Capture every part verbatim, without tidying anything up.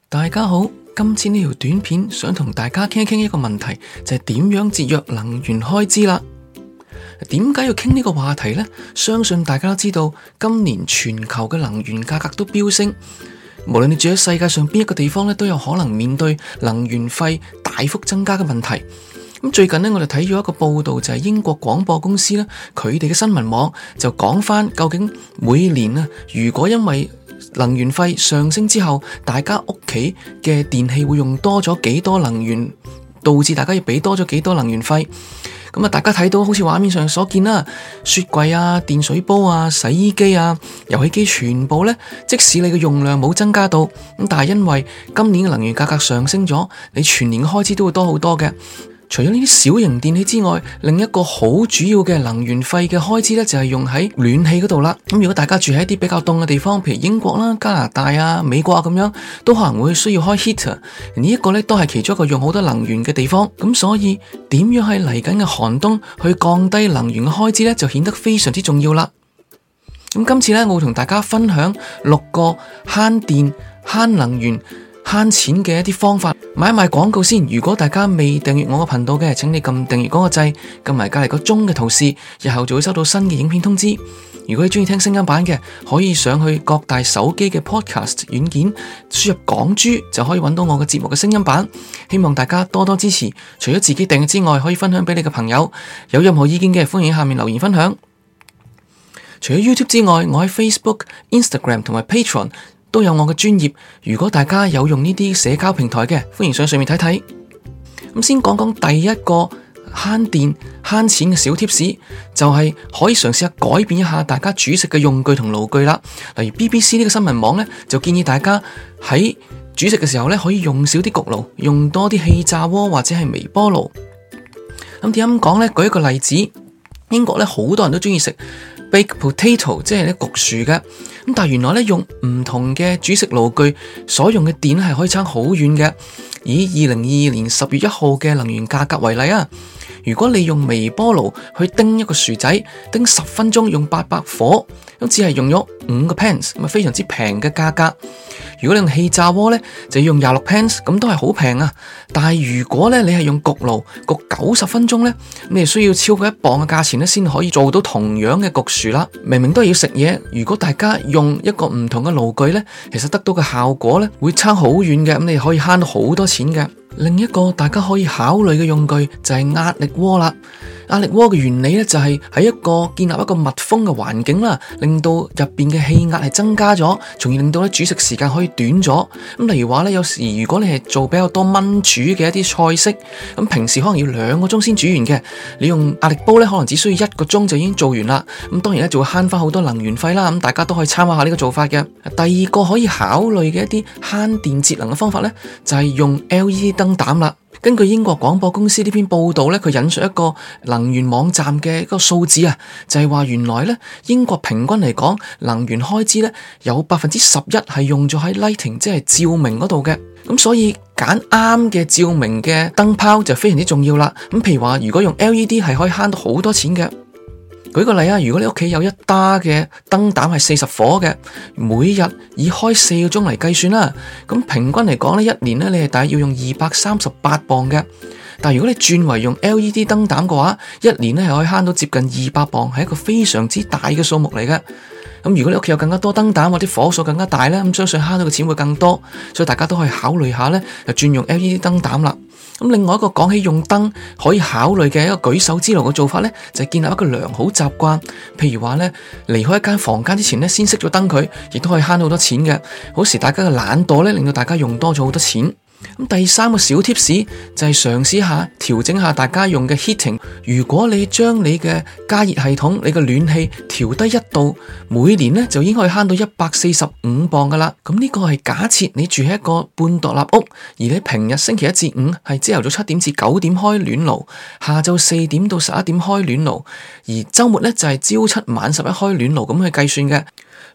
大家好，今次呢條短片想同大家傾一傾一個問題，就係點樣節約能源開支啦。點解要傾呢個話題呢？相信大家都知道，今年全球嘅能源價格都飆升，無論你住喺世界上邊一個地方咧，都有可能面對能源費大幅增加嘅問題。咁最近呢，我哋睇咗一個報道，就係英國廣播公司咧，佢哋嘅新聞網就講翻，究竟每年啊，如果因為能源費上升之後，大家屋企嘅電器會用多咗幾多能源，導致大家要俾多咗幾多能源費。咁啊，大家睇到好似畫面上所見啦，雪櫃啊、電水煲啊、洗衣機啊、遊戲機全部呢，即使你嘅用量冇增加到，咁但係因為今年嘅能源價格上升咗，你全年嘅開支都會多好多嘅。除咗呢啲小型電器之外，另一個好主要嘅能源費嘅開支咧，就係用喺暖氣嗰度啦。咁如果大家住喺一啲比較凍嘅地方，譬如英國啦、加拿大啊、美國啊咁樣，都可能會需要開 heater。呢一個咧都係其中一個用好多能源嘅地方。咁所以點樣喺嚟緊嘅寒冬去降低能源嘅開支咧，就顯得非常之重要啦。咁今次咧，我會同大家分享六個慳電、慳能源、慳錢嘅一啲方法。買賣廣告先，如果大家未訂閱我個頻道嘅，請你撳訂閱嗰個掣，撳埋隔籬個鐘嘅圖示，日後就會收到新嘅影片通知。如果你中意聽聲音版嘅，可以上去各大手機嘅 podcast 軟件，輸入港豬就可以揾到我嘅節目嘅聲音版。希望大家多多支持，除咗自己訂閱之外，可以分享俾你嘅朋友。有任何意見嘅，歡迎喺下面留言分享。除咗 YouTube 之外，我喺 Facebook、Instagram 同埋 Patreon都有我嘅專頁，如果大家有用呢啲社交平台嘅，歡迎上上面睇睇。咁先講講第一個慳電慳錢嘅小貼士，就係可以嘗試下改變一下大家煮食嘅用具同爐具啦。例如 B B C 呢個新聞網呢，就建議大家喺煮食嘅時候呢，可以用少啲焗爐，用多啲氣炸鍋或者係微波爐。咁點解咁講呢？舉一個例子，英國呢，好多人都中意食baked potato， 即係咧焗薯嘅，咁但係原來咧用唔同嘅煮食爐具所用嘅電係可以差好遠嘅。以二零二二年十月一號嘅能源價格為例啊，如果你用微波爐去叮一個薯仔，叮十分鐘用八百火，咁只係用咗五個 pence，咁啊非常之平嘅價格。如果你用氣炸鍋咧，就要用廿六 pence，咁都係好平啊。但係如果咧你係用焗爐焗九十分鐘咧，你係需要超過一磅嘅價錢咧，先可以做到同樣嘅焗薯啦。明明都係要食嘢，如果大家用一個唔同嘅爐具咧，其實得到嘅效果咧會差好遠嘅，咁你可以慳到好多錢嘅。另一個大家可以考慮嘅用具就係壓力鍋啦。壓力鍋嘅原理咧就係喺一個建立一個密封嘅環境啦，令到入邊嘅氣壓係增加咗，從而令到咧煮食時間可以短咗。咁例如話咧，有時如果你係做比較多燜煮嘅一啲菜式，咁平時可能要兩個鐘先煮完嘅，你用壓力煲咧可能只需要一個鐘就已經做完啦。咁當然咧就會慳翻好多能源費啦。咁大家都可以參考下呢個做法嘅。第二個可以考慮嘅一啲慳電節能嘅方法咧，就係用 L E D 燈膽啦。根據英國廣播公司呢篇報道咧，佢引述一個能源網站嘅一個數字啊，就係話原來咧英國平均嚟講能源開支咧有百分之十一係用咗喺 lighting， 即係照明嗰度嘅。咁所以揀啱嘅照明嘅燈泡就非常之重要啦。咁譬如話如果用 L E D 係可以慳到好多錢嘅。舉個例啊，如果你屋企有一打嘅燈膽係四十火嘅，每日以開四個鐘嚟計算啦，咁平均嚟講咧，一年咧你係大約要用二百三十八磅嘅。但如果你轉為用 L E D 燈膽嘅話，一年咧係可以慳到接近二百磅，係一個非常之大嘅數目嚟嘅。咁如果你屋企有更加多燈膽或者火數更加大咧，咁相信慳到嘅錢會更多，所以大家都可以考慮下咧，就轉用 L E D 燈膽啦。咁另外一個講起用燈可以考慮嘅一個舉手之勞嘅做法咧，就係建立一個良好習慣。譬如話咧，離開一間房間之前咧，先熄咗燈佢，亦都可以慳到好多錢嘅。好時大家嘅懶惰咧，令到大家用多咗好多錢。咁第三個小貼士就係嘗試下調整下大家用嘅 heating。如果你將你嘅加熱系統、你嘅暖氣調低一度，每年咧就已經可以慳到一百四十五磅噶啦。咁呢個係假設你住喺一個半獨立屋，而你平日星期一至五係朝頭早七點至九點開暖爐，下晝四點到十一點開暖爐，而周末咧就係朝七晚十一開暖爐咁去計算嘅。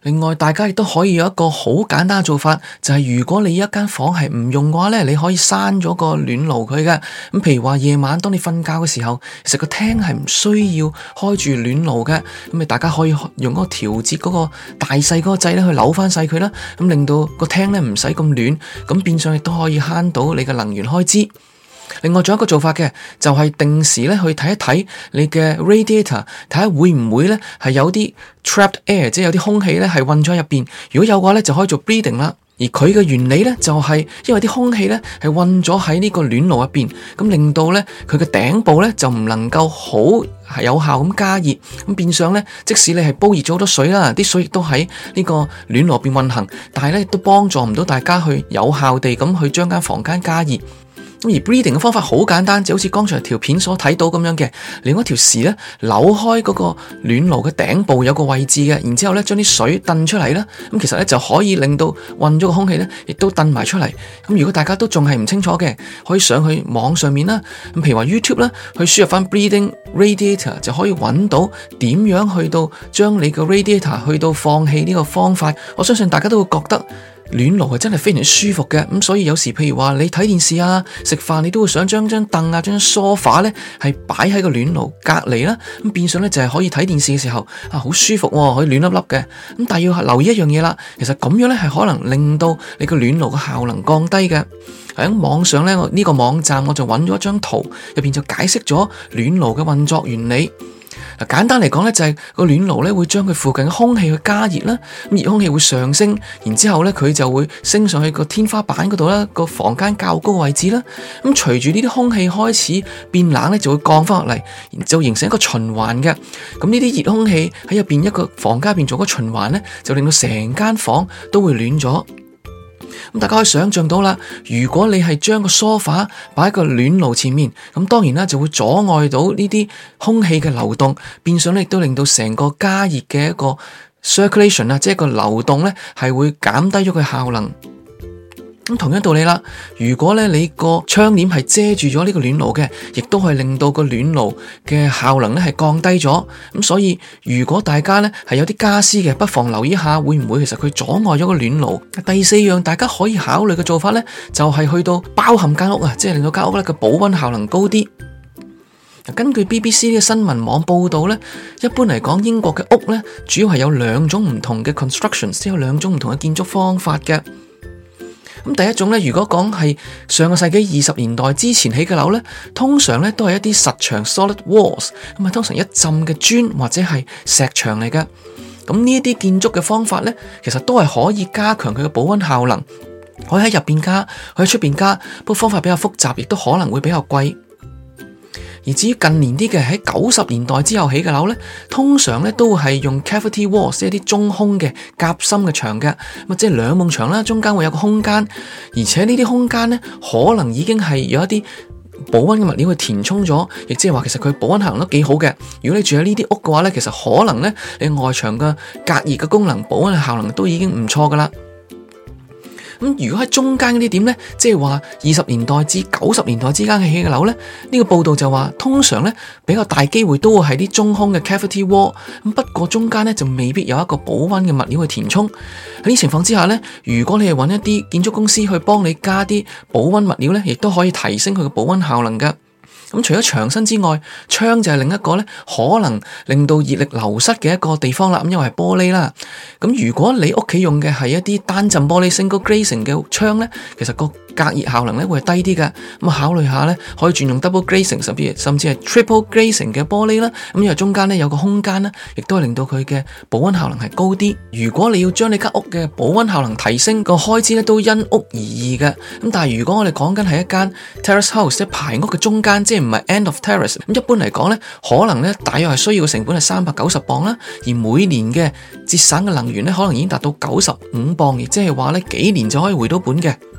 另外，大家亦都可以有一個好簡單嘅做法，就係如果你一間房係唔用嘅話咧，你可以閂咗個暖爐佢嘅。咁譬如話夜晚當你瞓覺嘅時候，其實個廳係唔需要開住暖爐嘅。咁你大家可以用嗰個調節嗰個大細嗰個掣咧去扭翻細佢啦，咁令到個廳咧唔使咁暖，咁變相亦都可以慳到你嘅能源開支。另外仲有一個做法嘅，就係定時咧去睇一睇你嘅 radiator， 睇下會唔會咧係有啲 trapped air， 即係有啲空氣咧係混咗喺入邊。如果有嘅話咧，就可以做 breathing 啦。而佢嘅原理咧就係因為啲空氣咧係混咗喺呢個暖爐入邊，咁令到咧佢嘅頂部咧就唔能夠好係有效咁加熱，咁變相咧即使你係煲熱咗好多水啦，啲水亦都喺呢個暖爐入邊運行，但係咧亦都幫助唔到大家去有效地咁去將間房間加熱。而 breathing 嘅方法好簡單，就好似剛才條片所睇到咁樣嘅，你用一條匙咧扭開嗰個暖爐嘅頂部有個位置嘅，然之後咧將啲水掟出嚟啦，咁其實咧就可以令到混咗個空氣咧，亦都掟埋出嚟。咁如果大家都仲係唔清楚嘅，可以上去網上面啦，咁譬如話 YouTube 啦，去輸入翻 breathing radiator 就可以揾到點樣去到將你個 radiator 去到放氣呢個方法。我相信大家都會覺得暖爐係真係非常舒服嘅，咁所以有時譬如話你睇電視啊、食飯，你都會想將張凳啊、將梳化咧係擺喺個暖爐隔籬啦，咁變相咧就係可以睇電視嘅時候啊好舒服，可以暖粒粒嘅。咁但係要留意一樣嘢啦，其實咁樣咧係可能令到你個暖爐嘅效能降低嘅。喺網上咧，我呢個網站我就揾咗一張圖，入邊就解釋咗暖爐嘅運作原理。嗱，簡單嚟講咧，就係個暖爐咧會將佢附近嘅空氣去加熱啦，咁熱空氣會上升，然之後咧佢就會升上去個天花板嗰度啦，個房間較高嘅位置啦。咁隨住呢啲空氣開始變冷咧，就會降翻落嚟，然之後形成一個循環嘅。咁呢啲熱空氣喺入邊一個房間入邊做個循環咧，就令到成間房都會暖咗。咁大家可以想象到啦，如果你係將個梳化擺喺個暖爐前面，咁當然啦就會阻礙到呢啲空氣嘅流動，變相咧亦都令到成個加熱嘅一個 circulation 啊，即係個流動咧係會減低咗佢效能。咁同樣道理啦，如果咧你個窗簾係遮住咗呢個暖爐嘅，亦都係令到個暖爐嘅效能咧係降低咗。咁所以如果大家咧係有啲家私嘅，不妨留意一下會唔會其實佢阻礙咗個暖爐。第四樣大家可以考慮嘅做法咧，就係去到包含間屋啊，即係令到間屋咧嘅保溫效能高啲。根據 B B C 呢個新聞網報道咧，一般嚟講英國嘅屋咧主要係有兩種唔同嘅 constructions，即係有兩種唔同嘅建築方法嘅。咁第一種咧，如果講係上個世紀二十年代之前起嘅樓咧，通常咧都係一啲實牆 solid walls，咁啊通常一浸嘅磚或者係石牆嚟嘅。咁呢一啲建築嘅方法咧，其實都係可以加強佢嘅保溫效能，可以喺入邊加，可以喺出邊加，不過方法比較複雜，亦都可能會比較貴。而至於近年啲嘅喺九十年代之後起嘅樓咧，通常咧都係用 cavity walls， 即係啲中空嘅夾心嘅牆嘅，咁即係兩埲牆啦，中間會有個空間，而且呢啲空間咧可能已經係有一啲保溫嘅物料去填充咗，亦即係話其實佢保溫效能都幾好嘅。如果你住喺呢啲屋嘅話咧，其實可能咧你外牆嘅隔熱嘅功能、保溫嘅效能都已經唔錯噶啦。咁如果喺中間嗰啲點呢，即係話二十年代至九十年代之間嘅起嘅樓呢，呢個報道就話通常呢比較大機會都會係啲中空嘅 cavity wall，咁不過中間呢就未必有一個保溫嘅物料去填充。喺呢情況之下呢，如果你係揾一啲建築公司去幫你加啲保溫物料呢，亦都可以提升佢嘅保溫效能噶。咁除咗牆身之外，窗就係另一個咧，可能令到熱力流失嘅一個地方啦。咁因為係玻璃啦，咁如果你屋企用嘅係一啲單浸玻璃 single glazing 嘅窗咧，其實個隔熱效能咧會係低啲嘅。咁考慮下咧，可以轉用 double glazing，甚至甚至係 triple glazing 嘅玻璃啦。咁因為中間咧有個空間啦，亦都係令到佢嘅保溫效能係高啲。如果你要將你間屋嘅保溫效能提升，個開支咧都因屋而異嘅。咁但係如果我哋講緊係一間 terrace house，即係排屋嘅中間，即係唔係 end of terrace，咁一般嚟講咧，可能咧大約係需要嘅成本係三百九十磅啦，而每年嘅節省嘅能源咧，可能已經達到九十五磅，亦即係話咧幾年就可以回到本嘅。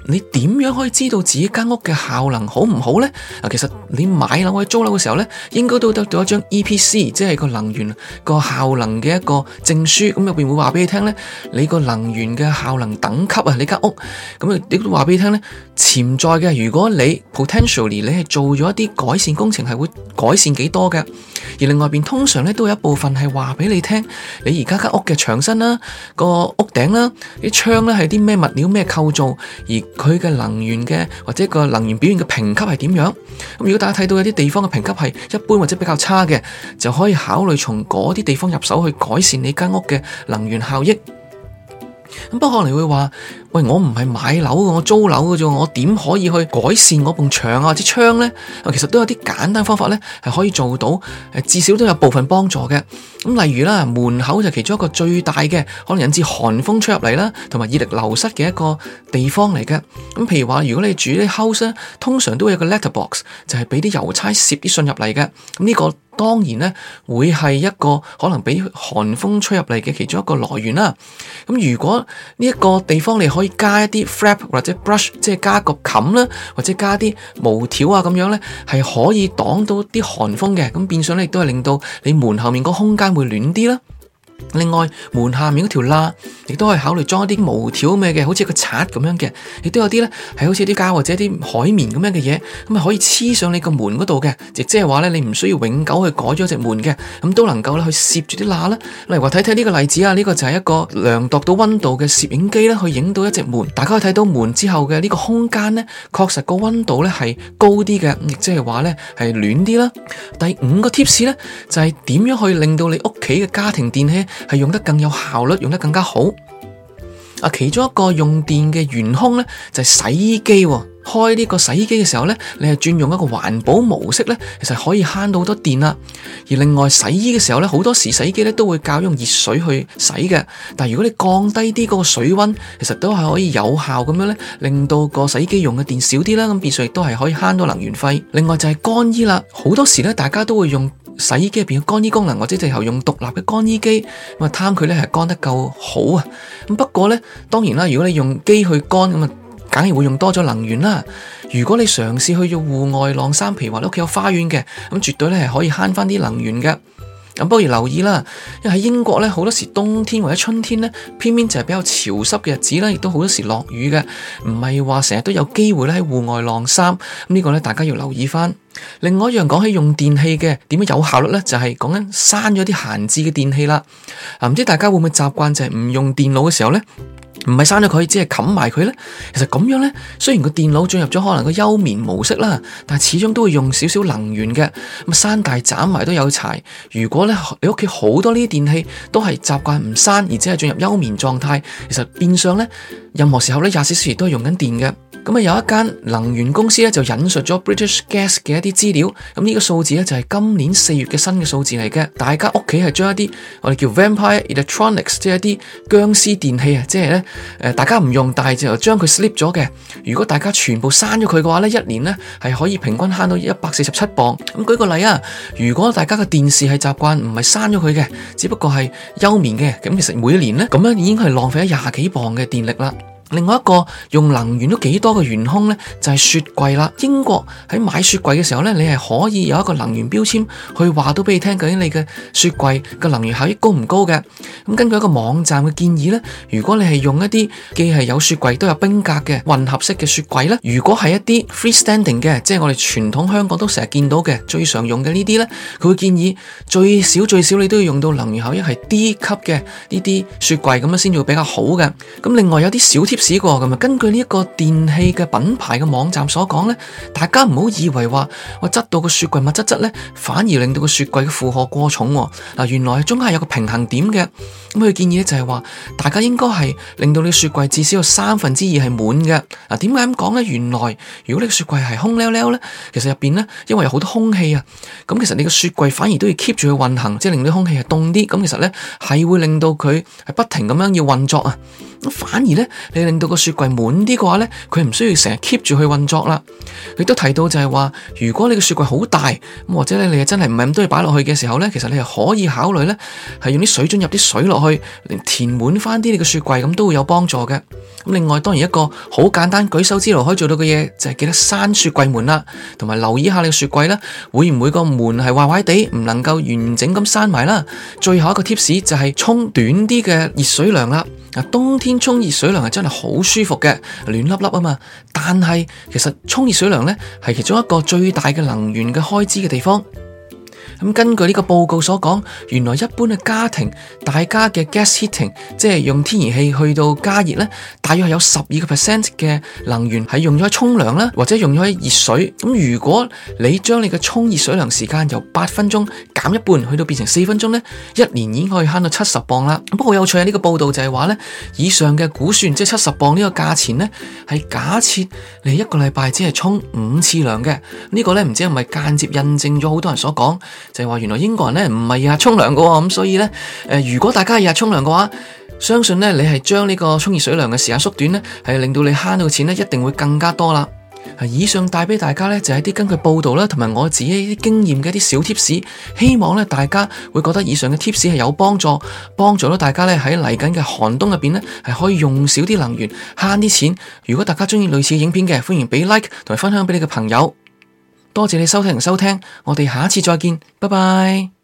你點樣可以知道自己間屋嘅效能好唔好呢？啊，其實你買樓或者租樓嘅時候呢，應該都得到一張 E P C， 即係個能源個效能嘅一個證書。咁入邊會話俾你聽呢，你個能源嘅效能等級啊，你間屋咁啊，亦都話俾你聽呢，潛在嘅，如果你 potentially 你係做咗一啲改善工程，係會改善幾多嘅。而另外邊通常呢，都有一部分係話俾你聽，你而家間屋嘅牆身啦、個屋頂啦、啲窗咧係啲咩物料咩構造，而佢嘅能源嘅或者個能源表現嘅評級係點樣？咁如果大家睇到有啲地方嘅評級係一般或者比較差嘅，就可以考慮從嗰啲地方入手去改善你間屋嘅能源效益。咁不過可能你會話，喂，我唔係買樓嘅，我租樓嘅啫，我點可以去改善我埲牆啊或者窗呢？其實都有啲簡單方法呢，係可以做到，至少都有部分幫助嘅。咁例如啦，門口就其中一個最大嘅可能引致寒風吹入嚟啦，同埋熱力流失嘅一個地方嚟嘅。咁譬如話，如果你住啲 house 咧，通常都會有個 letterbox，就係俾啲郵差攝啲信入嚟嘅。咁呢個當然呢，會係一個可能俾寒風吹入嚟嘅其中一個來源啦。咁如果呢一個地方你可以加一啲 flap 或者 brush， 即係加個冚啦，或者加啲毛條啊咁樣呢，係可以擋到啲寒風嘅。咁變相咧亦都係令到你門後面個空間會暖啲啦。另外門下面嗰條罅亦都可以考慮裝一啲毛條咩嘅，好似個刷咁樣嘅，亦都有啲咧係好似啲膠或者啲海綿咁樣嘅嘢，咁啊可以黐上你個門嗰度嘅，亦即係話咧你唔需要永久去改咗隻門嘅，咁都能夠咧去攝住啲罅啦。例如話睇睇呢個例子啊，呢個就係一個量度到溫度嘅攝影機咧，去影到一隻門，大家可以睇到門之後嘅呢個空間咧，確實個溫度咧係高啲嘅，亦即係話咧係暖啲啦。第五個 tips 咧就係點樣去令到你屋企嘅家庭電器係用得更有效率，用得更加好。啊，其中一個用電嘅元兇咧就係洗衣機。開呢個洗衣機嘅時候咧，你係轉用一個環保模式咧，其實可以慳到好多電啦。而另外洗衣嘅時候咧，好多時洗衣機咧都會較用熱水去洗嘅。但係如果你降低啲嗰個水溫，其實都係可以有效咁樣咧，令到個洗衣機用嘅電少啲啦。咁變相亦都係可以慳到能源費。另外就係乾衣啦，好多時咧大家都會用洗衣機入邊嘅乾衣功能，或者最後用獨立嘅乾衣機，咁啊貪佢咧係乾得夠好啊。咁不過咧，當然啦，如果你用機去乾咁啊，梗係會用多咗能源啦。如果你嘗試去用戶外晾衫，譬如話你屋企有花園嘅，咁絕對咧係可以慳翻啲能源嘅。咁不如留意啦，因為喺英國咧好多時冬天或者春天咧，偏偏就係比較潮濕嘅日子啦，亦都好多時落雨嘅，唔係話成日都有機會咧喺戶外晾衫。咁呢個咧大家要留意翻。另外一樣講起用電器嘅點樣有效率咧，就係講緊刪咗啲閒置嘅電器啦。啊，唔知大家會唔會習慣就係唔用電腦嘅時候咧？唔係刪咗佢，只係冚埋佢咧。其實咁樣咧，雖然個電腦進入咗可能個休眠模式啦，但係始終都會用少少能源嘅。咁刪大斬埋都有柴。如果咧你屋企好多呢啲電器都係習慣唔刪，而只係進入休眠狀態，其實變相咧任何時候咧廿四小時都係用緊電嘅。咁啊有一間能源公司咧就引述咗 British Gas 嘅一啲資料，咁呢個數字咧就係今年四月嘅新嘅數字嚟嘅。大家屋企係將一啲我哋叫 Vampire Electronics， 即係一啲僵屍電器啊，即係咧誒大家唔用，但係就將佢 slip 咗嘅。如果大家全部刪咗佢嘅話咧，一年咧係可以平均慳到一百四十七磅。咁舉個例啊，如果大家嘅電視係習慣唔係刪咗佢嘅，只不過係休眠嘅，咁其實每一年咧咁樣已經係浪費咗廿幾磅嘅電力啦。另外一個用能源都幾多嘅元兇呢，就係雪櫃啦。英國喺買雪櫃嘅時候呢，你係可以有一個能源標籤去話到俾你聽，究竟你嘅雪櫃嘅能源效益高唔高嘅。咁根據一個網站嘅建議呢，如果你係用一啲既係有雪櫃都有冰格嘅混合式嘅雪櫃呢，如果係一啲 freestanding 嘅，即係我哋傳統香港都成日見到嘅最常用嘅呢啲呢，佢會建議最少最少你都要用到能源效益係 D 級嘅呢啲雪櫃，咁樣先至會比較好嘅。咁另外有啲小貼試過咁啊，根據呢一個電器嘅品牌嘅網站所講咧，大家唔好以為話我質到個雪櫃密質質咧，反而令到個雪櫃嘅負荷過重嗱。原來中間係有個平衡點嘅。咁佢建議咧就係話，大家應該係令到你雪櫃至少有三分之二係滿嘅。嗱，點解咁講咧？原來如果你個雪櫃係空溜溜咧，其實入邊咧因為有好多空氣啊，咁其實你個雪櫃反而都要 keep 住去運行，即係令到空氣係凍啲。咁其實咧係會令到佢係不停咁樣要運作啊。咁反而咧，你令到個雪櫃滿啲嘅話咧，佢唔需要成日 keep 住去運作啦。亦都提到就係話，如果你個雪櫃好大，咁或者咧你係真係唔係咁多嘢擺落去嘅時候咧，其實你係可以考慮咧係用啲水樽入啲水落去，嚟填滿翻啲你個雪櫃，咁都會有幫助嘅。咁另外當然一個好簡單舉手之勞可以做到嘅嘢，就係記得閂雪櫃門啦，同埋留意下你個雪櫃咧會唔會個門係壞壞地，唔能夠完整咁閂埋啦。最後一個 tips 就係沖短啲嘅熱水涼啦。冬天沖熱水涼係真係好舒服嘅，暖粒粒啊嘛。但係其實沖熱水涼咧係其中一個最大嘅能源嘅開支嘅地方。咁根據呢個報告所講，原來一般嘅家庭，大家嘅 gas heating， 即係用天然氣去到加熱咧，大約係有十二個 percent 嘅能源係用咗喺沖涼啦，或者用咗喺熱水。咁如果你將你嘅沖熱水涼時間由八分鐘減一半，去到變成四分鐘咧，一年已經可以慳到七十磅啦。不過好有趣啊，呢個報道就係話咧，以上嘅估算，即係七十磅呢個價錢咧，係假設你一個禮拜只係沖五次涼嘅。呢個咧唔知係咪間接印證咗好多人所講，就係話原來英國人咧唔係日日沖涼嘅喎，咁所以咧，誒、呃、如果大家日日沖涼嘅話，相信咧你係將呢個沖熱水涼嘅時間縮短咧，係令到你慳到嘅錢咧一定會更加多啦。以上帶俾大家咧就係啲根據報道啦，同埋我自己啲經驗嘅一啲小 tips，希望咧大家會覺得以上嘅 tips 係有幫助，幫助到大家咧喺嚟緊嘅寒冬入邊咧係可以用少啲能源，慳啲錢。如果大家中意類似嘅影片嘅，歡迎俾 like 同埋分享俾你嘅朋友。多謝你收聽同收聽，我哋下一次再見，拜拜。